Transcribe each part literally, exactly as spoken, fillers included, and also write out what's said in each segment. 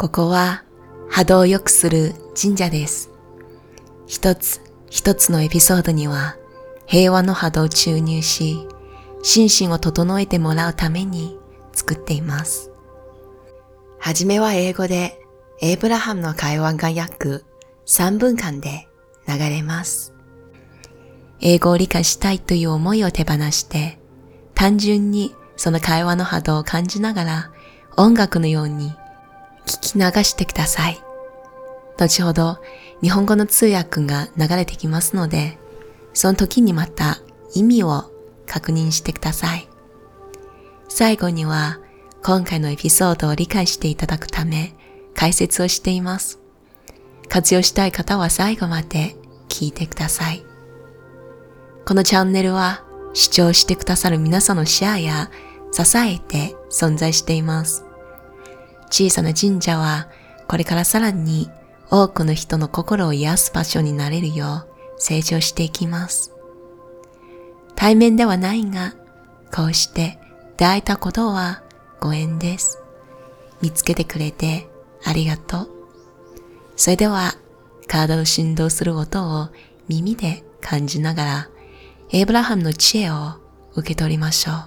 ここは波動を良くする神社です。一つ一つのエピソードには平和の波動を注入し、心身を整えてもらうために作っています。はじめは英語で、エイブラハムの会話が約さんぷんかんで流れます。英語を理解したいという思いを手放して、単純にその会話の波動を感じながら音楽のように聞き流してください。後ほど日本語の通訳が流れてきますので、その時にまた意味を確認してください。最後には今回のエピソードを理解していただくため解説をしています。活用したい方は最後まで聞いてください。このチャンネルは視聴してくださる皆さんのシェアや支えて存在しています。小さな神社はこれからさらに多くの人の心を癒す場所になれるよう成長していきます。対面ではないが、こうして出会えたことはご縁です。見つけてくれてありがとう。それでは体を振動する音を耳で感じながら、エイブラハムの知恵を受け取りましょう。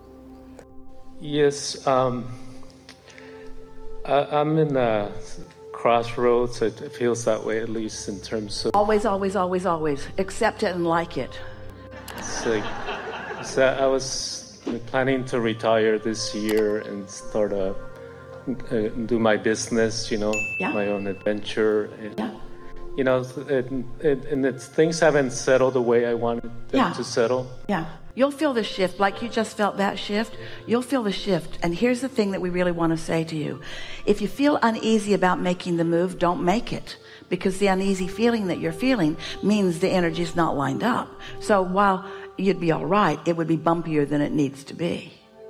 Yes, um, I, I'm in a crossroads. It feels that way, at least in terms of. Always, always, always, always. Accept it and like it. It's like, so I was planning to retire this year and start a, uh, do my business, you know, yeah. my own adventure. And, yeah. You know, it, it, and it's, things haven't settled the way I wanted them yeah. to settle. Yeah. You'll feel the shift, like you just felt that shift. You'll feel the shift. And here's the thing that we really want to say to you. If you feel uneasy about making the move, don't make it. Because the uneasy feeling that you're feeling means the energy's not lined up. So while you'd be all right, it would be bumpier than it needs to be.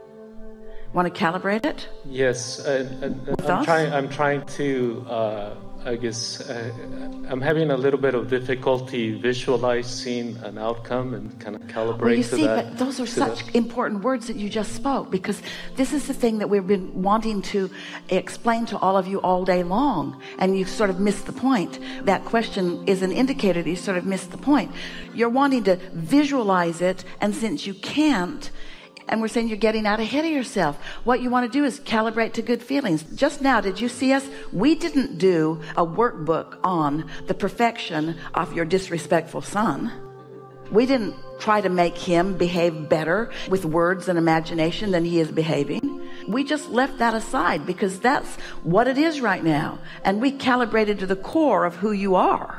Want to calibrate it? Yes. And, and, and I'm, trying, I'm trying to... Uh, I guess uh, I'm having a little bit of difficulty visualizing an outcome and kind of calibrate well, you to see, that. But those are such that. important words that you just spoke, because this is the thing that we've been wanting to explain to all of you all day long, and you've sort of missed the point. That question is an indicator that you sort of missed the point. You're wanting to visualize it, and since you can't, and we're saying you're getting out ahead of yourself. What you want to do is calibrate to good feelings. Just now, did you see us? We didn't do a workbook on the perfection of your disrespectful son. We didn't try to make him behave better with words and imagination than he is behaving. We just left that aside because that's what it is right now. And we calibrated to the core of who you are.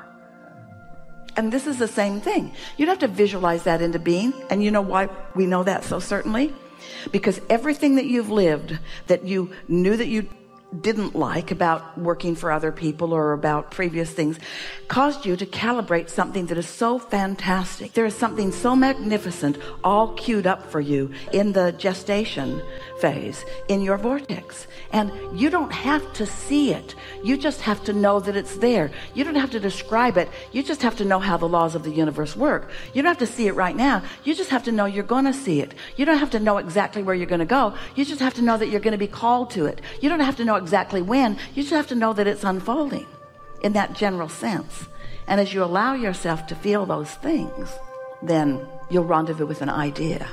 And this is the same thing. You'd have to visualize that into being. And you know why we know that so certainly? Because everything that you've lived that you knew that you didn't like about working for other people or about previous things caused you to calibrate something that is so fantastic. There is something so magnificent all queued up for you in the gestation phase in your vortex. And you don't have to see it. You just have to know that it's there. You don't have to describe it. You just have to know how the laws of the universe work. You don't have to see it right now. You just have to know you're going to see it. You don't have to know exactly where you're going to go. You just have to know that you're going to be called to it. You don't have to know exactly when. You just have to know that it's unfolding in that general sense. And as you allow yourself to feel those things, then you'll rendezvous with an idea.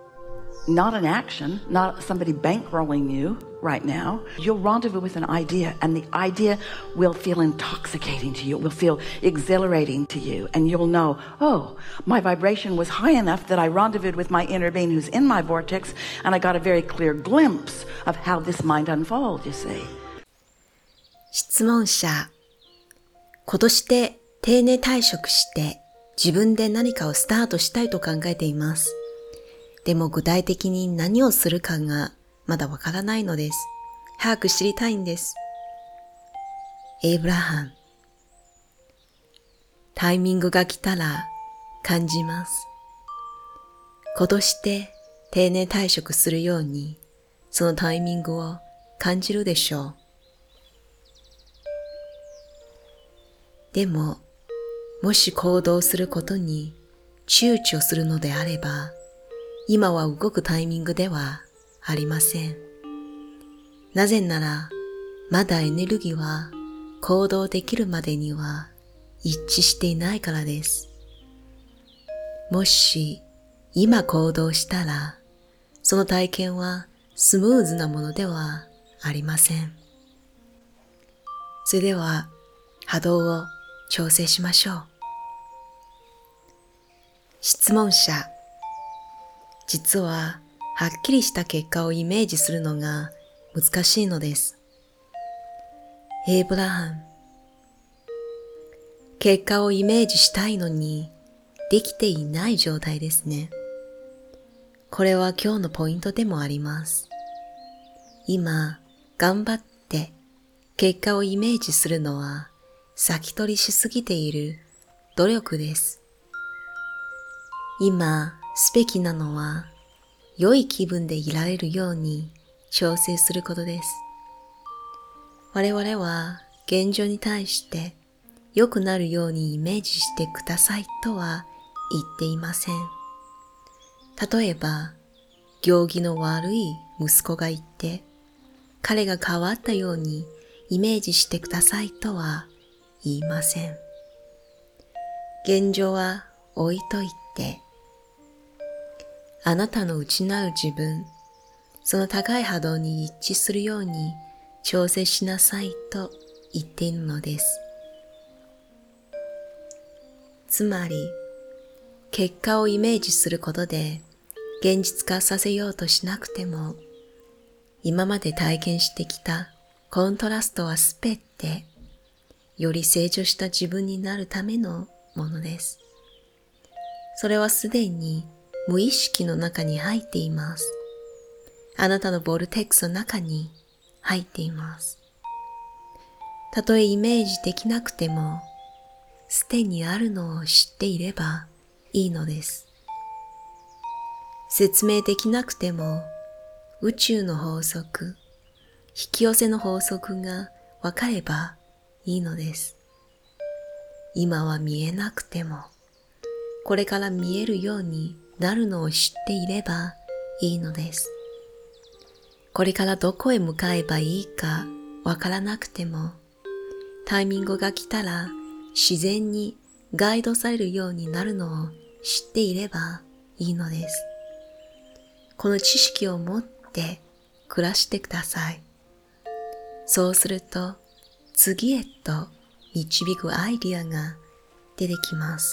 Not an action, not somebody bankrolling you right now. You'll rendezvous with an idea, and the idea will feel intoxicating to you. It will feel exhilarating to you, and you'll know, oh, my vibration was high enough that I rendezvoused with my inner being who's in my vortex, and I got a very clear glimpse of how this might unfold, you see. 質問者、今年で定年退職して自分で何かをスタートしたいと考えています。でも具体的に何をするかがまだわからないのです。早く知りたいんです。エイブラハム。タイミングが来たら感じます。今年で定年退職するように、そのタイミングを感じるでしょう。でも、もし行動することに躊躇するのであれば、今は動くタイミングではありません。なぜなら、 まだエネルギーは行動できるまでには一致していないからです。もし今行動したら、その体験はスムーズなものではありません。それでは波動を調整しましょう。質問者、実ははっきりした結果をイメージするのが難しいのです。エイブラハム、結果をイメージしたいのにできていない状態ですね。これは今日のポイントでもあります。今、頑張って結果をイメージするのは先取りしすぎている努力です。今、すべきなのは良い気分でいられるように調整することです。我々は現状に対して良くなるようにイメージしてくださいとは言っていません。例えば、行儀の悪い息子がいて、彼が変わったようにイメージしてくださいとは言いません。現状は置いといて、あなたの内なる自分、その高い波動に一致するように調整しなさいと言っているのです。つまり、結果をイメージすることで現実化させようとしなくても、今まで体験してきたコントラストはすべて、より成長した自分になるためのものです。それはすでに無意識の中に入っています。あなたのボルテックスの中に入っています。たとえイメージできなくても、すでにあるのを知っていればいいのです。説明できなくても、宇宙の法則、引き寄せの法則がわかればいいのです。今は見えなくても、これから見えるようになるのを知っていればいいのです。これからどこへ向かえばいいかわからなくても、タイミングが来たら自然にガイドされるようになるのを知っていればいいのです。この知識を持って暮らしてください。そうすると次へと導くアイディアが出てきます。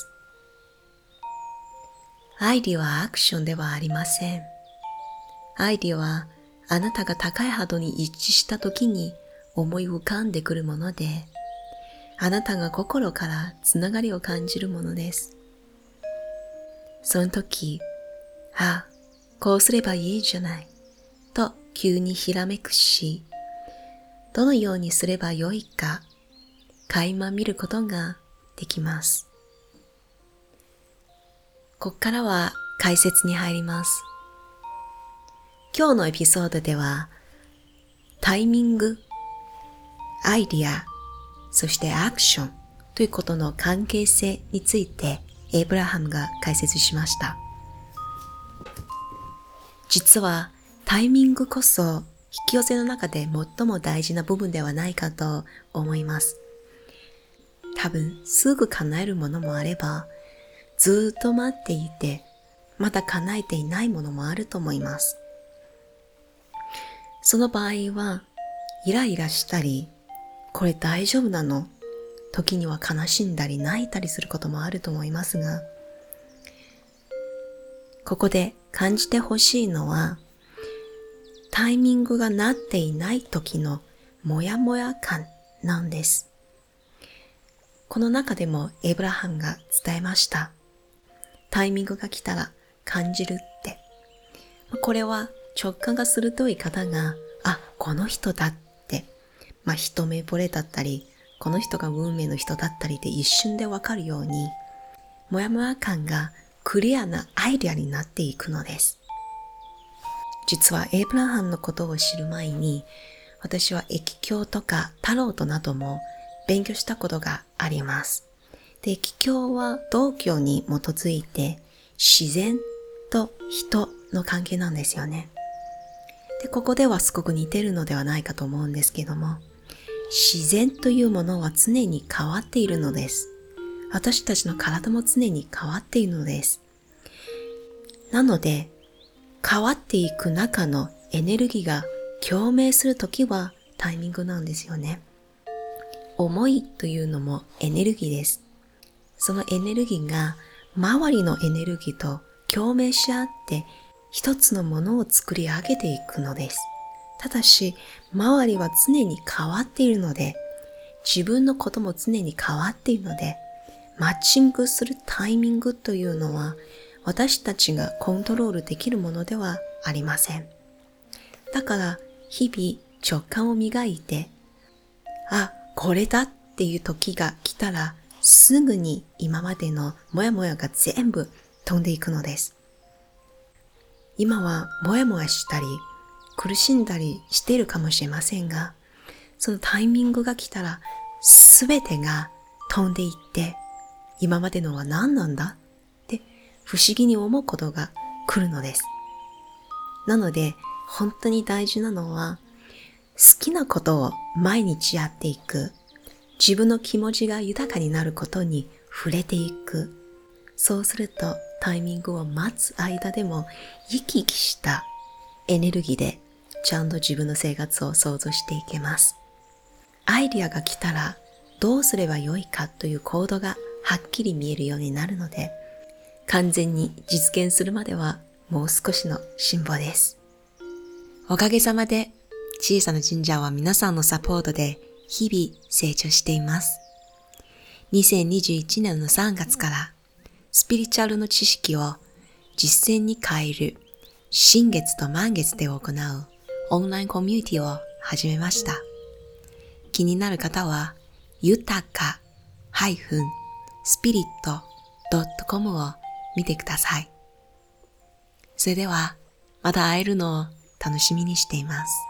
アイディアはアクションではありません。アイディアはあなたが高い波動に一致した時に思い浮かんでくるもので、あなたが心からつながりを感じるものです。その時、あ、こうすればいいじゃない、と急にひらめくし、どのようにすればよいか、垣間見ることができます。ここからは解説に入ります。今日のエピソードでは、タイミング、アイディア、そしてアクションということの関係性についてエイブラハムが解説しました。実はタイミングこそ引き寄せの中で最も大事な部分ではないかと思います。多分すぐ叶えるものもあれば、ずっと待っていてまだ叶えていないものもあると思います。その場合はイライラしたり、これ大丈夫なの？時には悲しんだり泣いたりすることもあると思いますが、ここで感じてほしいのは、タイミングがなっていない時のモヤモヤ感なんです。この中でもエイブラハムが伝えました。タイミングが来たら感じるって。これは直感が鋭い方が、あ、この人だって、まあ一目惚れだったり、この人が運命の人だったりで一瞬でわかるように、もやもや感がクリアなアイデアになっていくのです。実はエイブラハムのことを知る前に、私は易経とかタロットなども勉強したことがあります。で、易経は道教に基づいて自然と人の関係なんですよね。で、ここではすごく似てるのではないかと思うんですけども、 自然というものは常に変わっているのです。私たちの体も常に変わっているのです。なので、変わっていく中のエネルギーが共鳴するときはタイミングなんですよね。思いというのもエネルギーです。そのエネルギーが周りのエネルギーと共鳴し合って一つのものを作り上げていくのです。ただし、周りは常に変わっているので、自分のことも常に変わっているので、マッチングするタイミングというのは私たちがコントロールできるものではありません。だから日々直感を磨いて、あ、これだっていう時が来たらすぐに今までのモヤモヤが全部飛んでいくのです。今はモヤモヤしたり苦しんだりしているかもしれませんが、そのタイミングが来たらすべてが飛んでいって、今までのは何なんだって不思議に思うことが来るのです。なので本当に大事なのは、好きなことを毎日やっていく、自分の気持ちが豊かになることに触れていく。そうするとタイミングを待つ間でも生き生きしたエネルギーでちゃんと自分の生活を想像していけます。アイディアが来たらどうすればよいかという行動がはっきり見えるようになるので、完全に実現するまではもう少しの辛抱です。おかげさまで小さな神社は皆さんのサポートで日々成長しています。にせんにじゅういちねんのさんがつからスピリチュアルの知識を実践に変える新月と満月で行うオンラインコミュニティを始めました。気になる方は豊かスピリットドットコム を見てください。それではまた会えるのを楽しみにしています。